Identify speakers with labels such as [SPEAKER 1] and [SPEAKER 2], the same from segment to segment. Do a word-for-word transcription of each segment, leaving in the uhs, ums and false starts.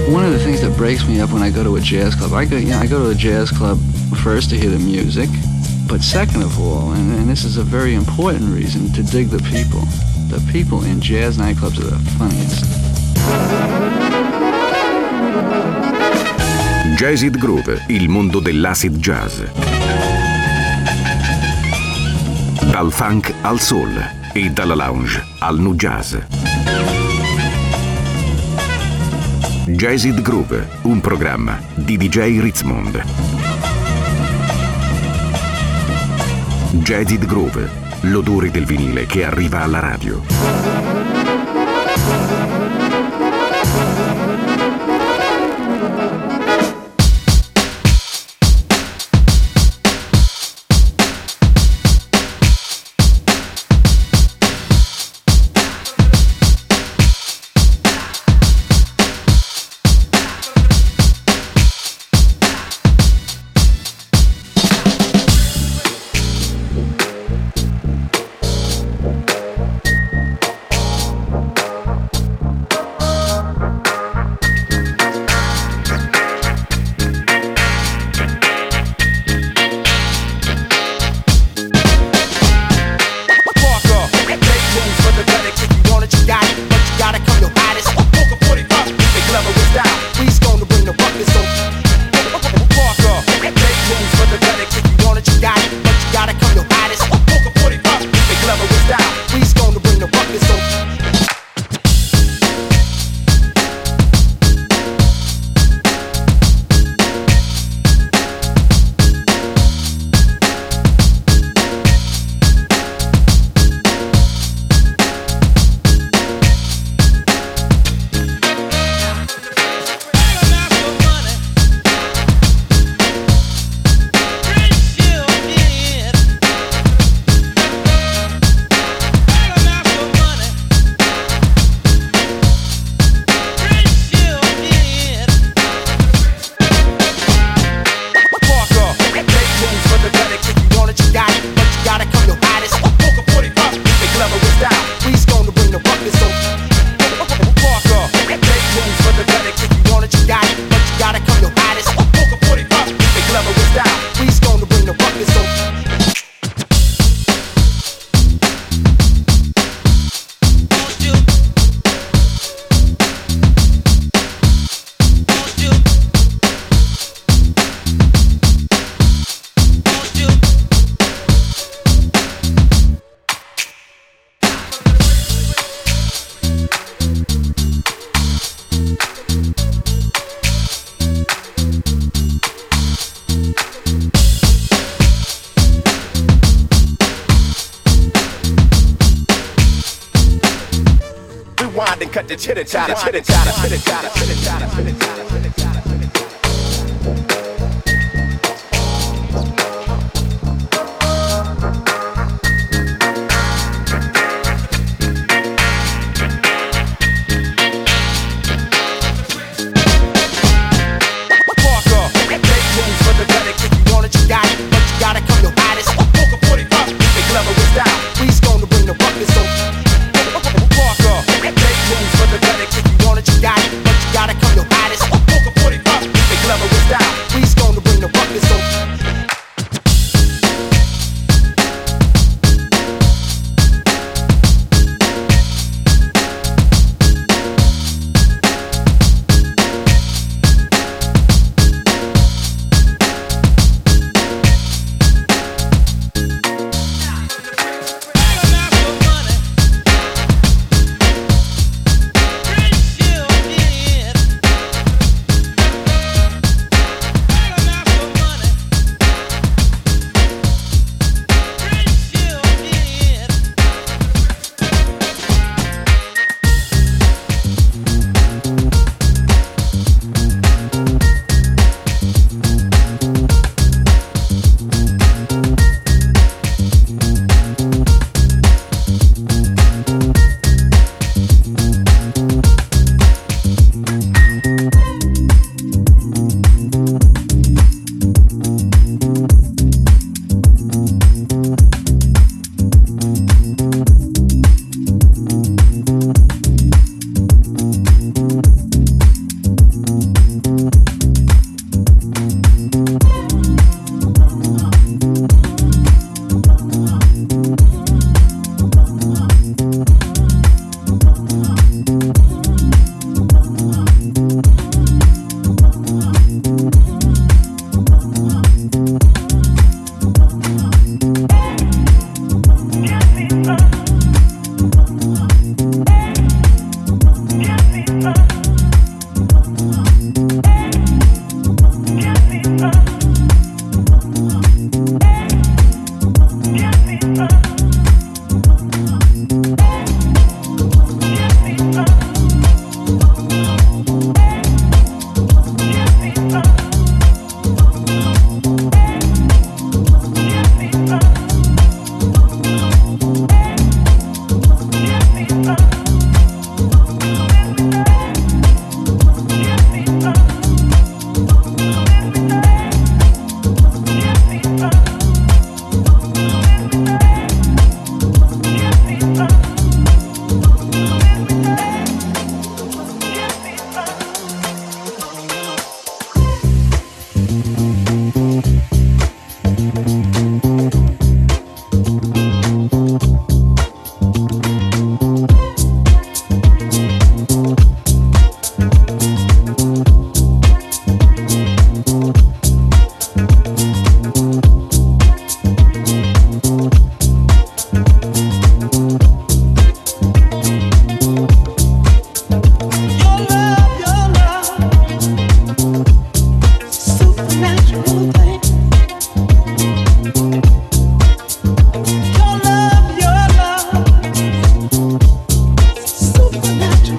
[SPEAKER 1] One of the things that breaks me up when I go to a jazz club, I go, you know, I go to a jazz club first to hear the music, but second of all, and, and this is a very important reason, to dig the people. The people in jazz nightclubs are the funniest.
[SPEAKER 2] Jazzid Groove, il mondo dell'acid jazz. Dal funk al soul e dalla lounge al nu jazz. Jazzid Groove, un programma di D J Ritzmond. Jazzid Groove, l'odore del vinile che arriva alla radio.
[SPEAKER 3] Cut the chitter chatter, chitter chatter, chitter chatter, chitter chatter, chitter chatter, chitter chatter. Gotta come your hottest, poker forty up.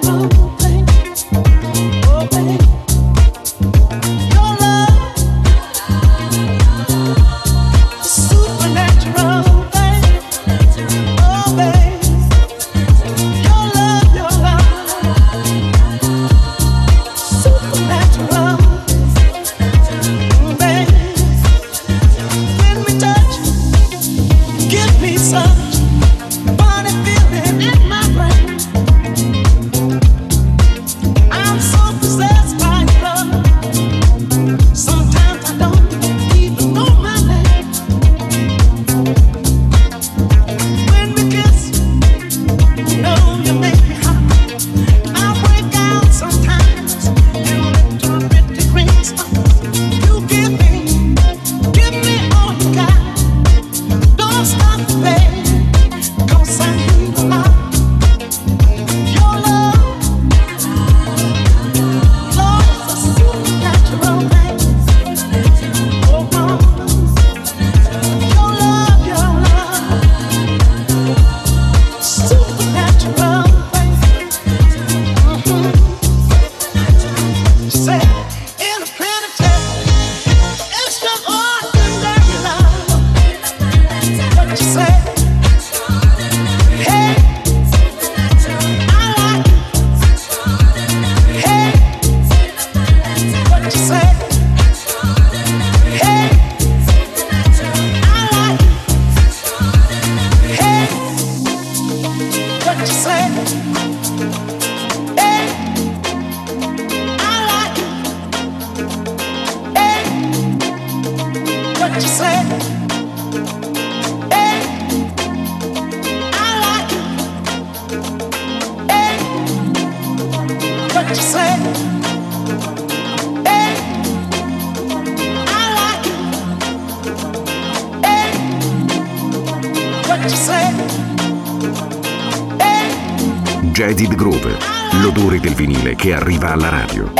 [SPEAKER 2] Jaded Groove, l'odore del vinile che arriva alla radio.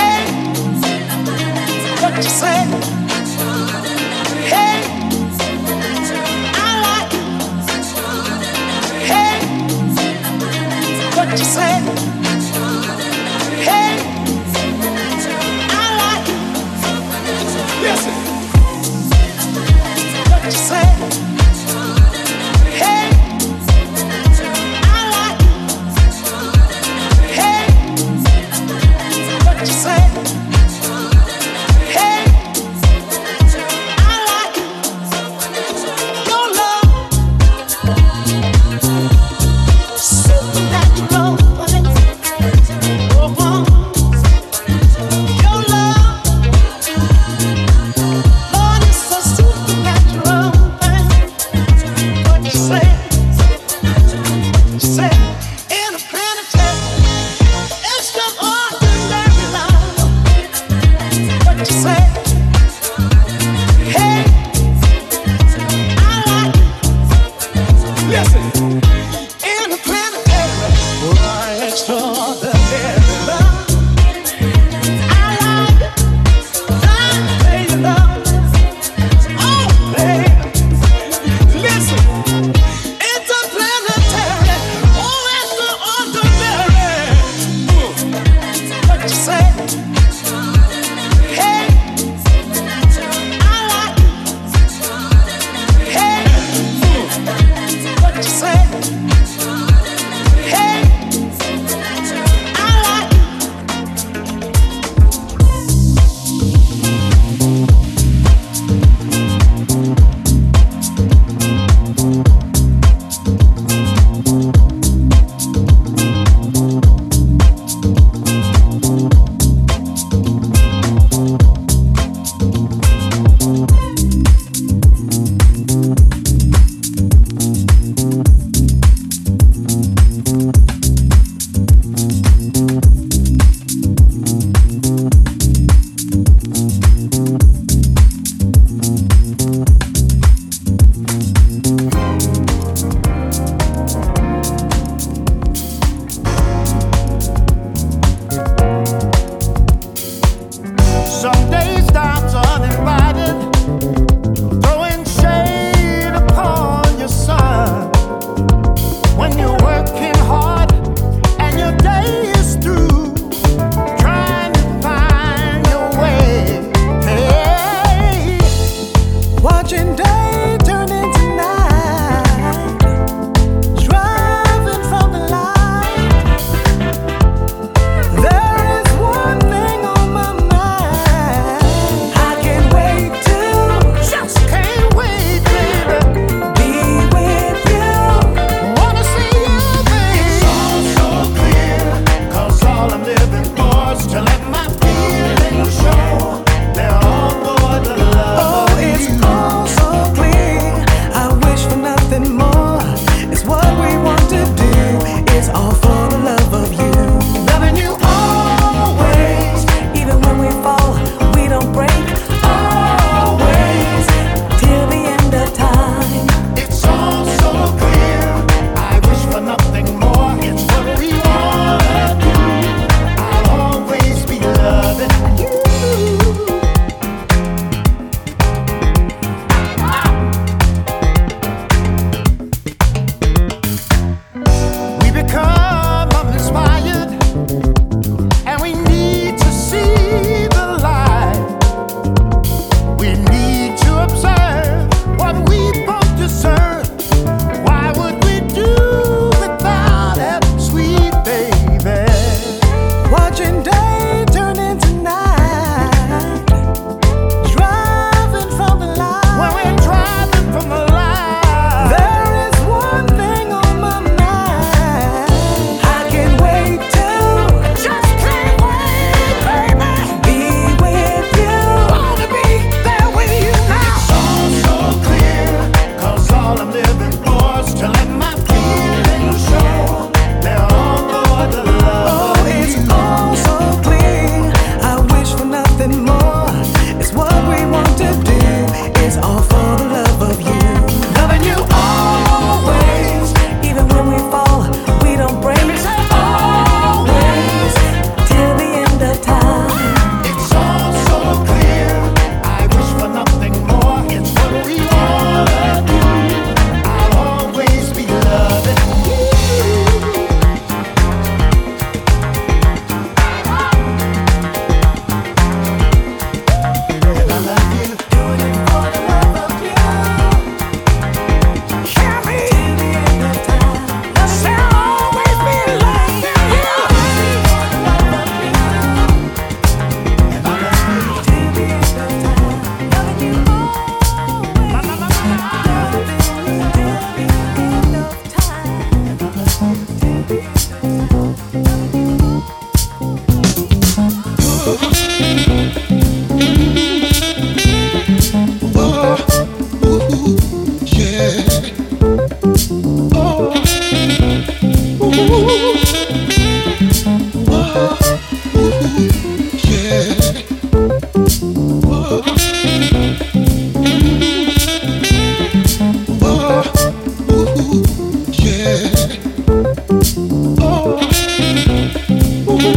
[SPEAKER 4] Supernatural,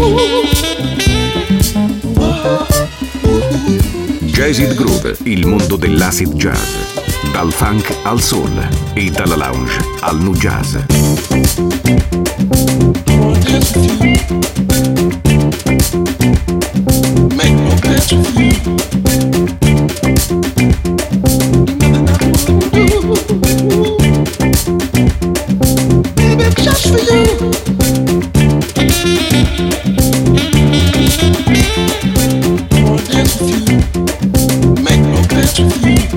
[SPEAKER 2] Jazzid Groove, il mondo dell'acid jazz. Dal funk al soul e dalla lounge al nu jazz.
[SPEAKER 4] Make no plans with you. Baby, just for you. I wanna dance with you. Make no plans with you.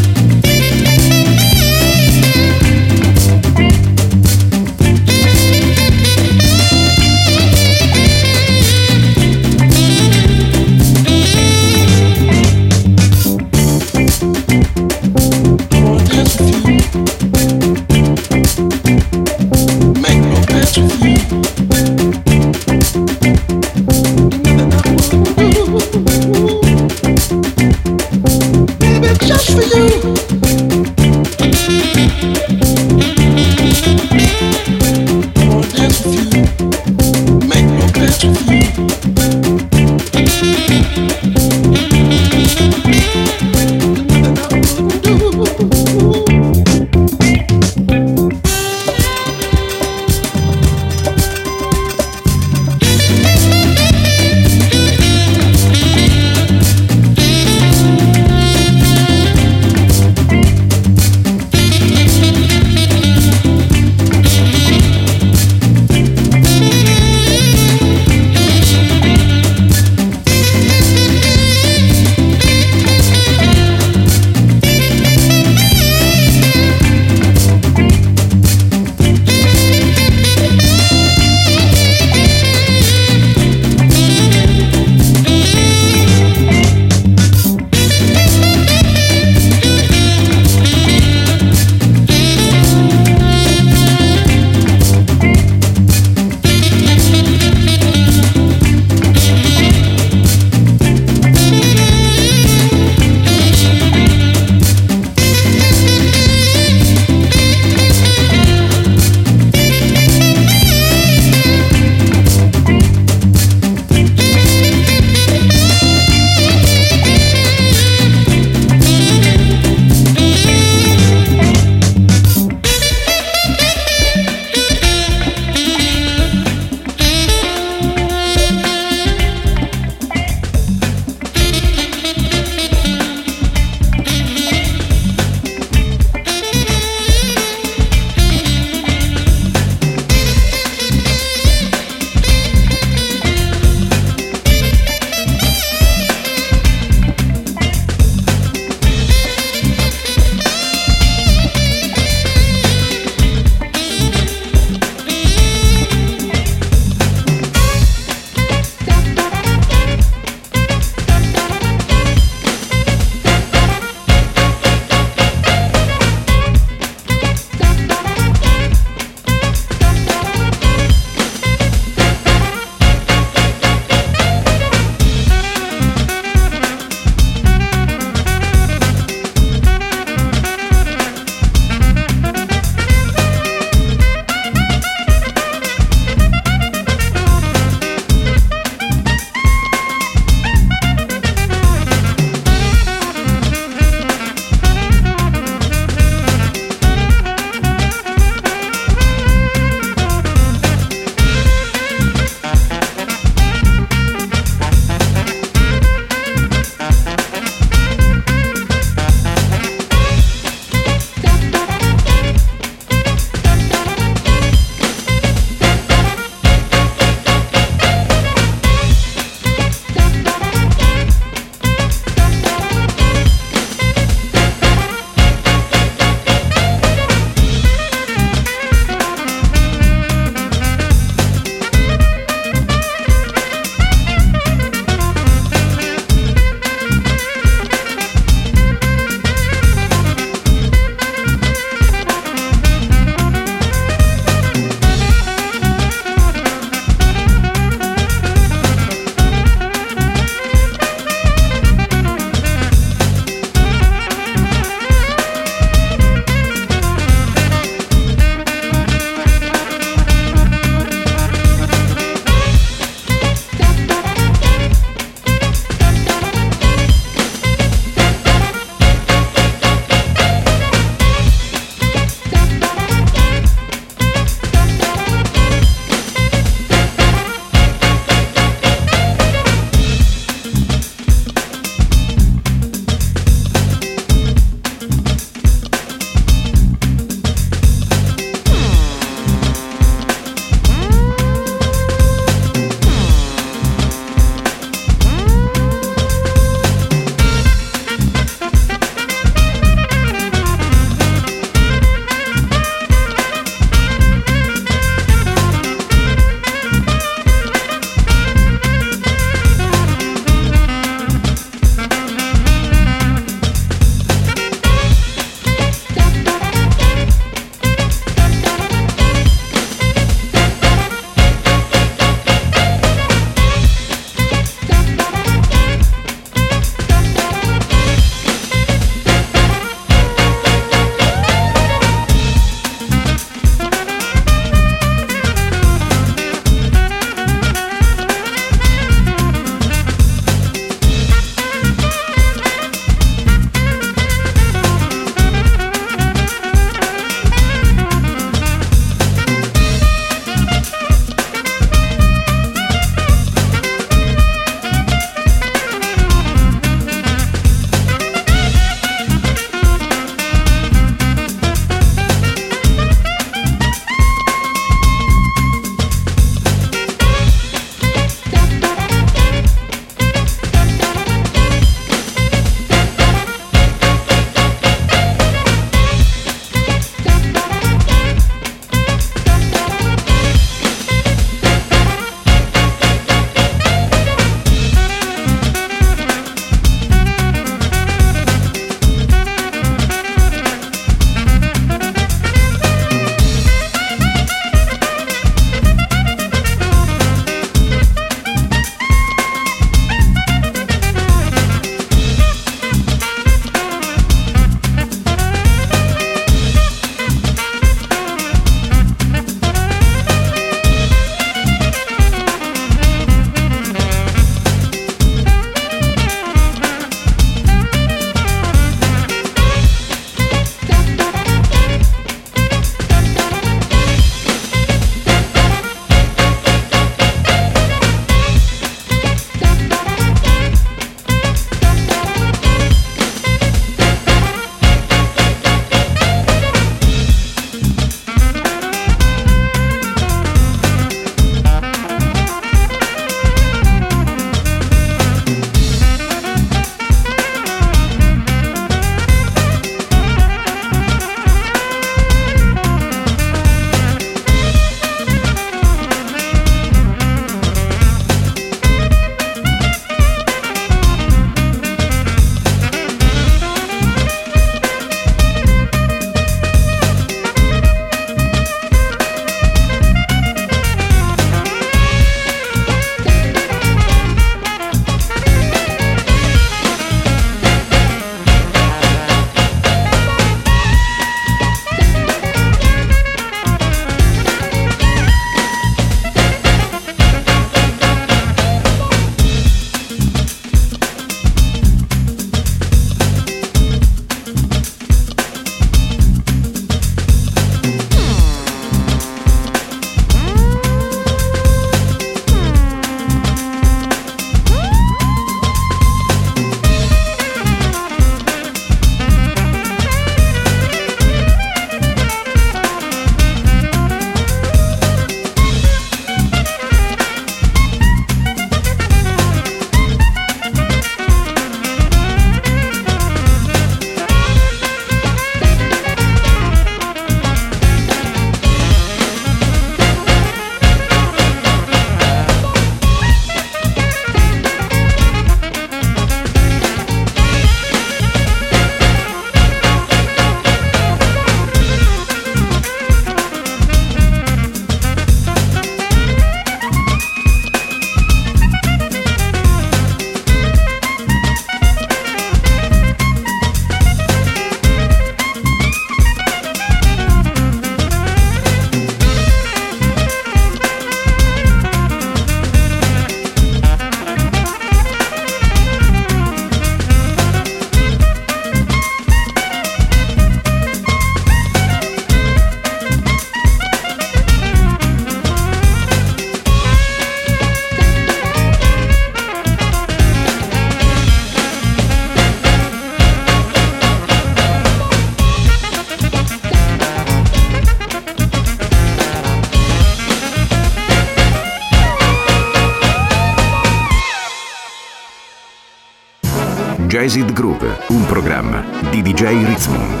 [SPEAKER 2] Jazzed Groove, un programma di D J Ritzmond.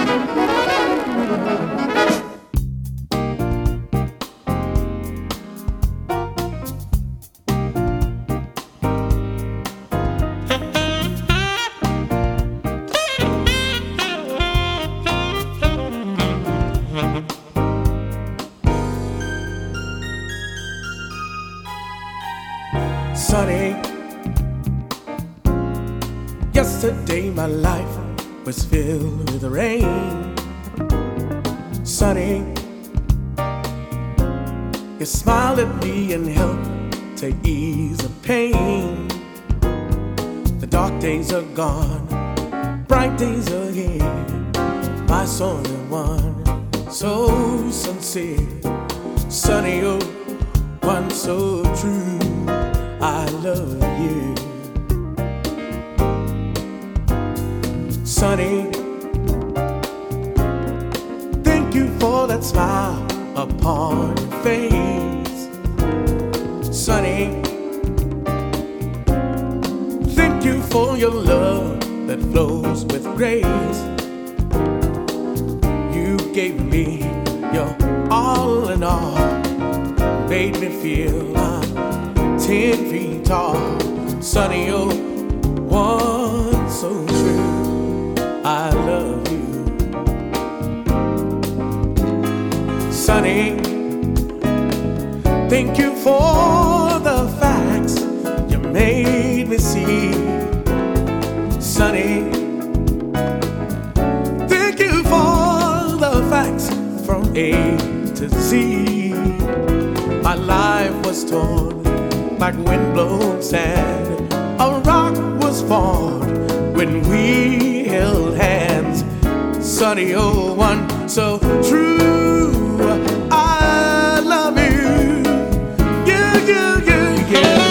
[SPEAKER 5] Sunny, yesterday my life was filled with rain. Sunny, you smiled at me and helped to ease the pain. The dark days are gone, bright days are here. My only one, so sincere. Sunny, oh, one so true. I love you. Sunny, thank you for that smile upon your face. Sunny, thank you for your love that flows with grace. You gave me your all in all, made me feel I'm ten feet tall. Sunny, oh, one so true. I love you. Sunny, thank you for the facts you made me see. Sunny, thank you for the facts from A to Z. My life was torn like windblown sand. A rock was formed when we held hands. Sunny, oh, one so true. I love you. Yeah, yeah, yeah, yeah.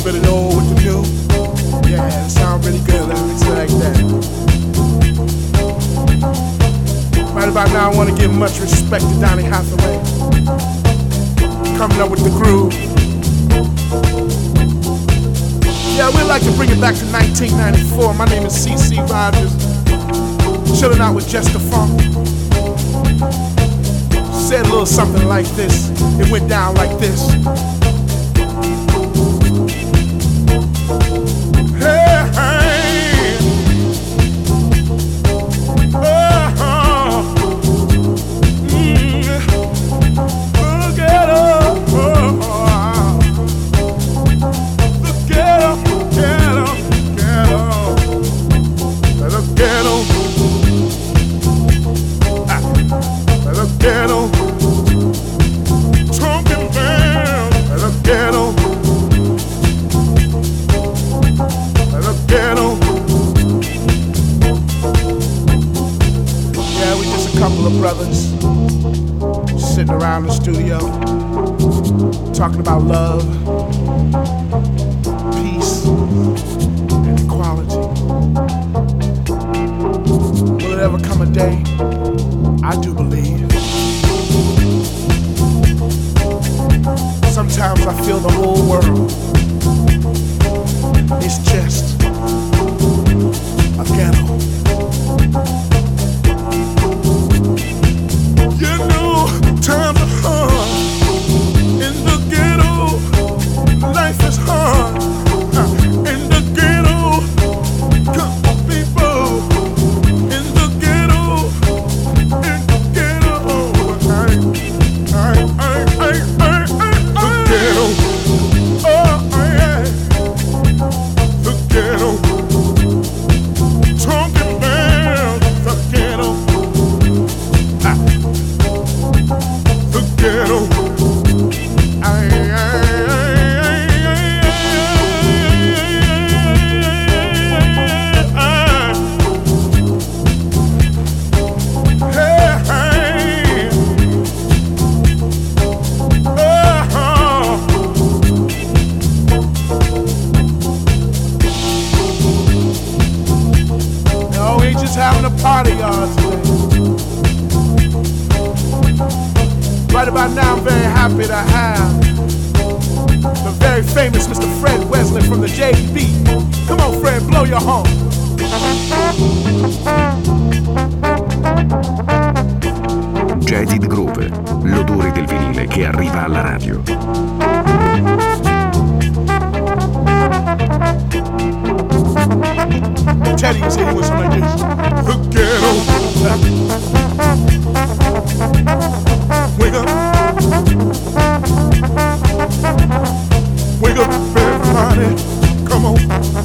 [SPEAKER 5] bit of the old with the new. Yeah, it sounds really good. Let me say like that. Right about now, I want to give much respect to Donny Hathaway. Coming up with the groove. Yeah, we'd like to bring it back to nineteen ninety-four. My name is C C Rogers. Chilling out with Jester Funk. Said a little something like this. It went down like this. Hey, hey. Uh-huh. Mm. Look at her. Oh. Look at her. Get her. Get her. Look at her. Ah. Ghetto, talking down at the ghetto, at the ghetto. Yeah, we just a couple of brothers sitting around the studio talking about love, peace, and equality. Will it ever come a day? I do believe. Sometimes I feel the whole world is just a ghetto. You know, times are hard in the ghetto. Life is hard in the ghetto. Come on, people, in the ghetto, in the ghetto. I, I, I, I, I. Ghetto, oh yeah, the ghetto, talking about the ghetto, ah. The ghetto, I, I, having a party y'all today. Right about now I'm very happy to have the very famous Mister Fred Wesley from the J B. Come on Fred, blow your horn.
[SPEAKER 2] Jaded Groove, l'odore del vinile che arriva alla radio.
[SPEAKER 5] Teddy was hitting with something like this. The ghetto. Wake up. Wake up, everybody. Come on.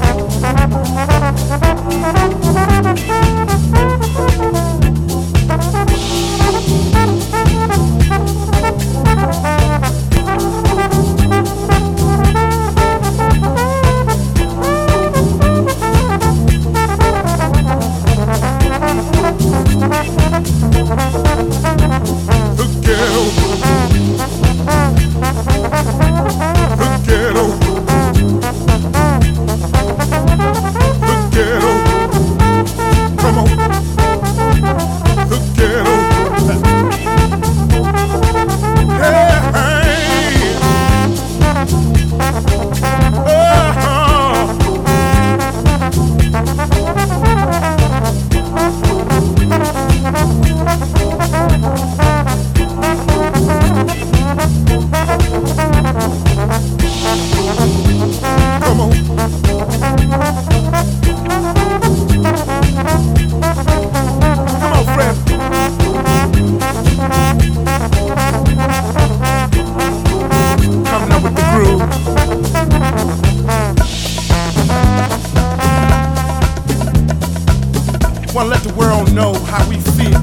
[SPEAKER 5] Want to let the world know how we feel.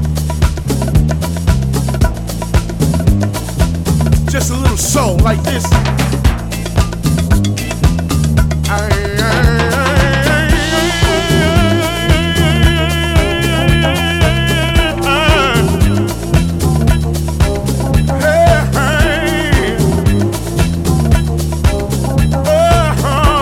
[SPEAKER 5] Just a little soul like this. I, I, Uh-huh.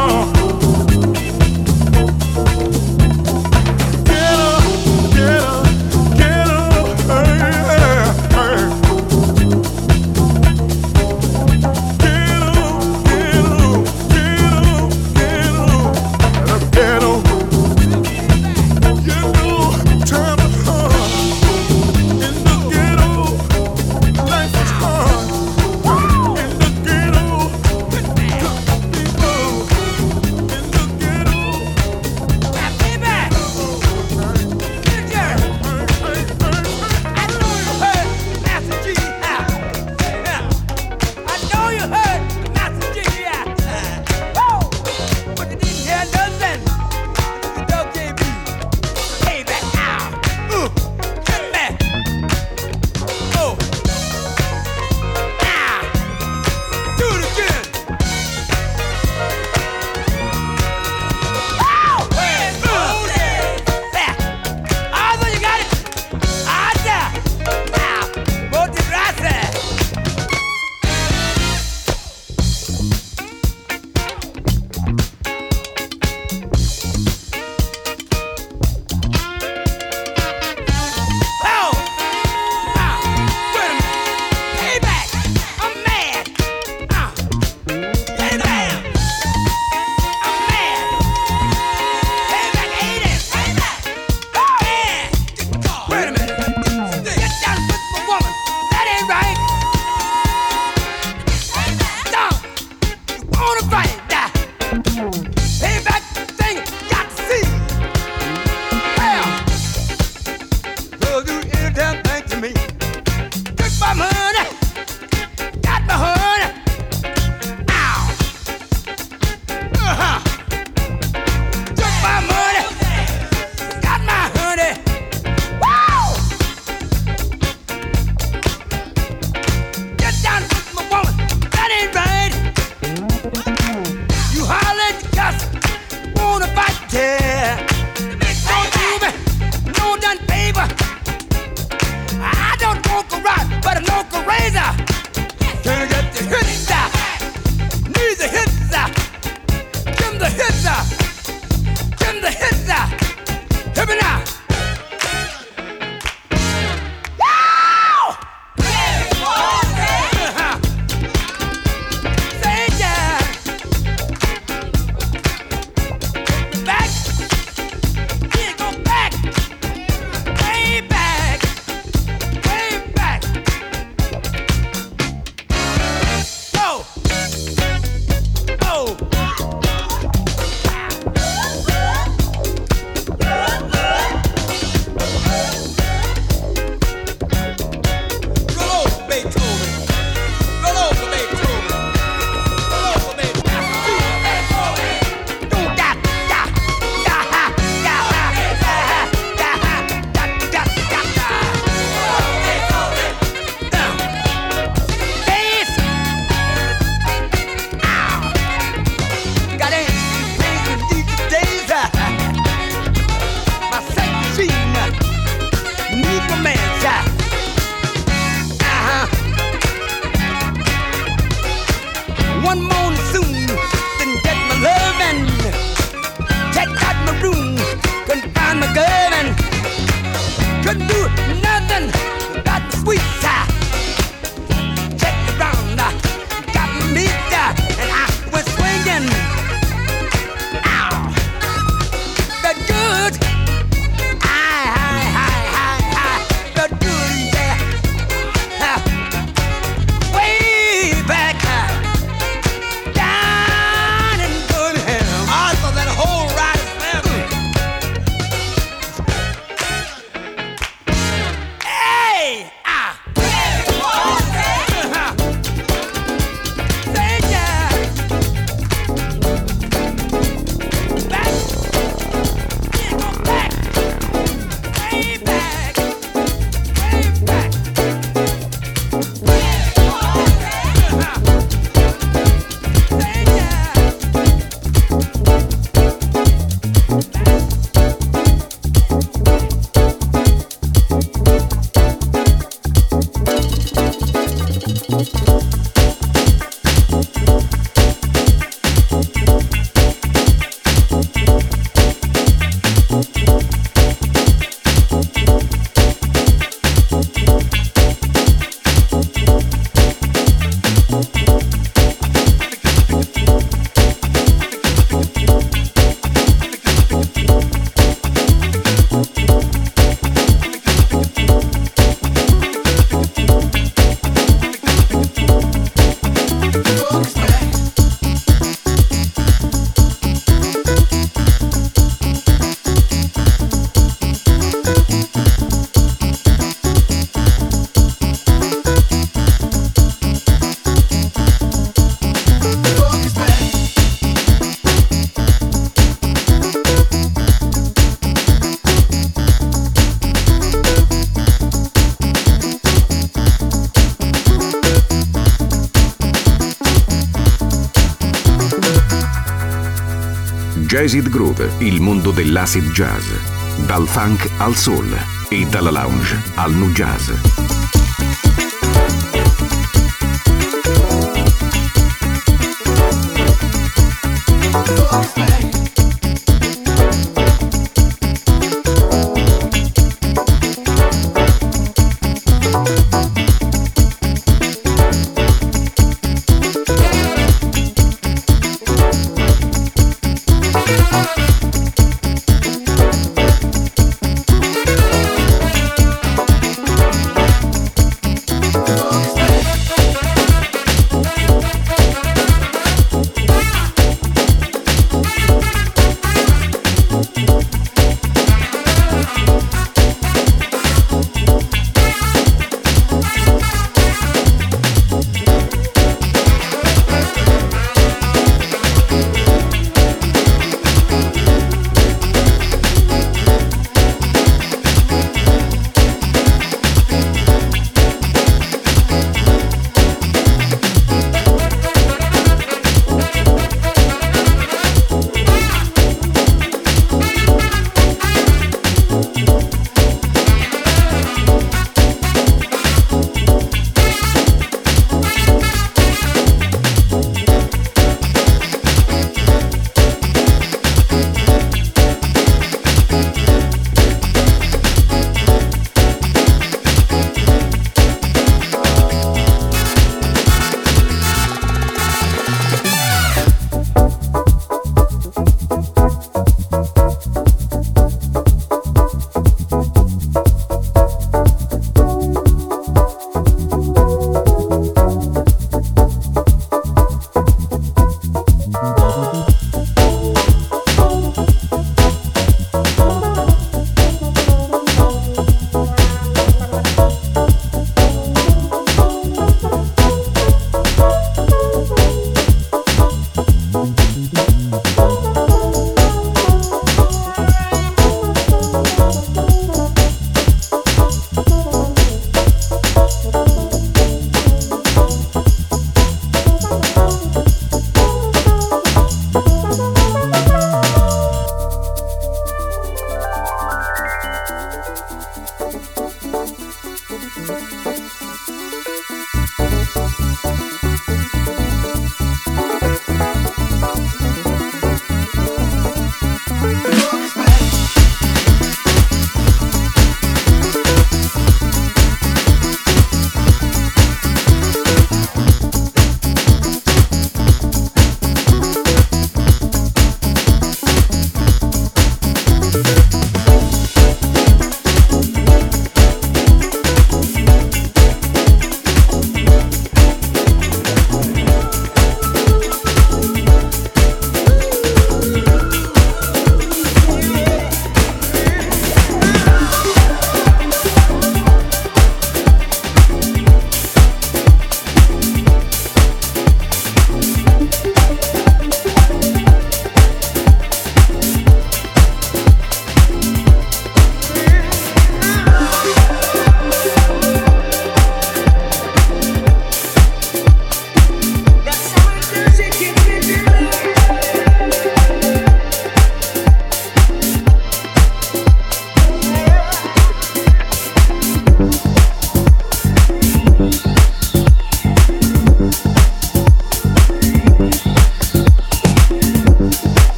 [SPEAKER 2] Jazzid Groove, il mondo dell'acid jazz. Dal funk al soul e dalla lounge al nu jazz.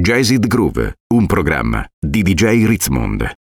[SPEAKER 2] Jazzed Groove, un programma di D J Ritzmond.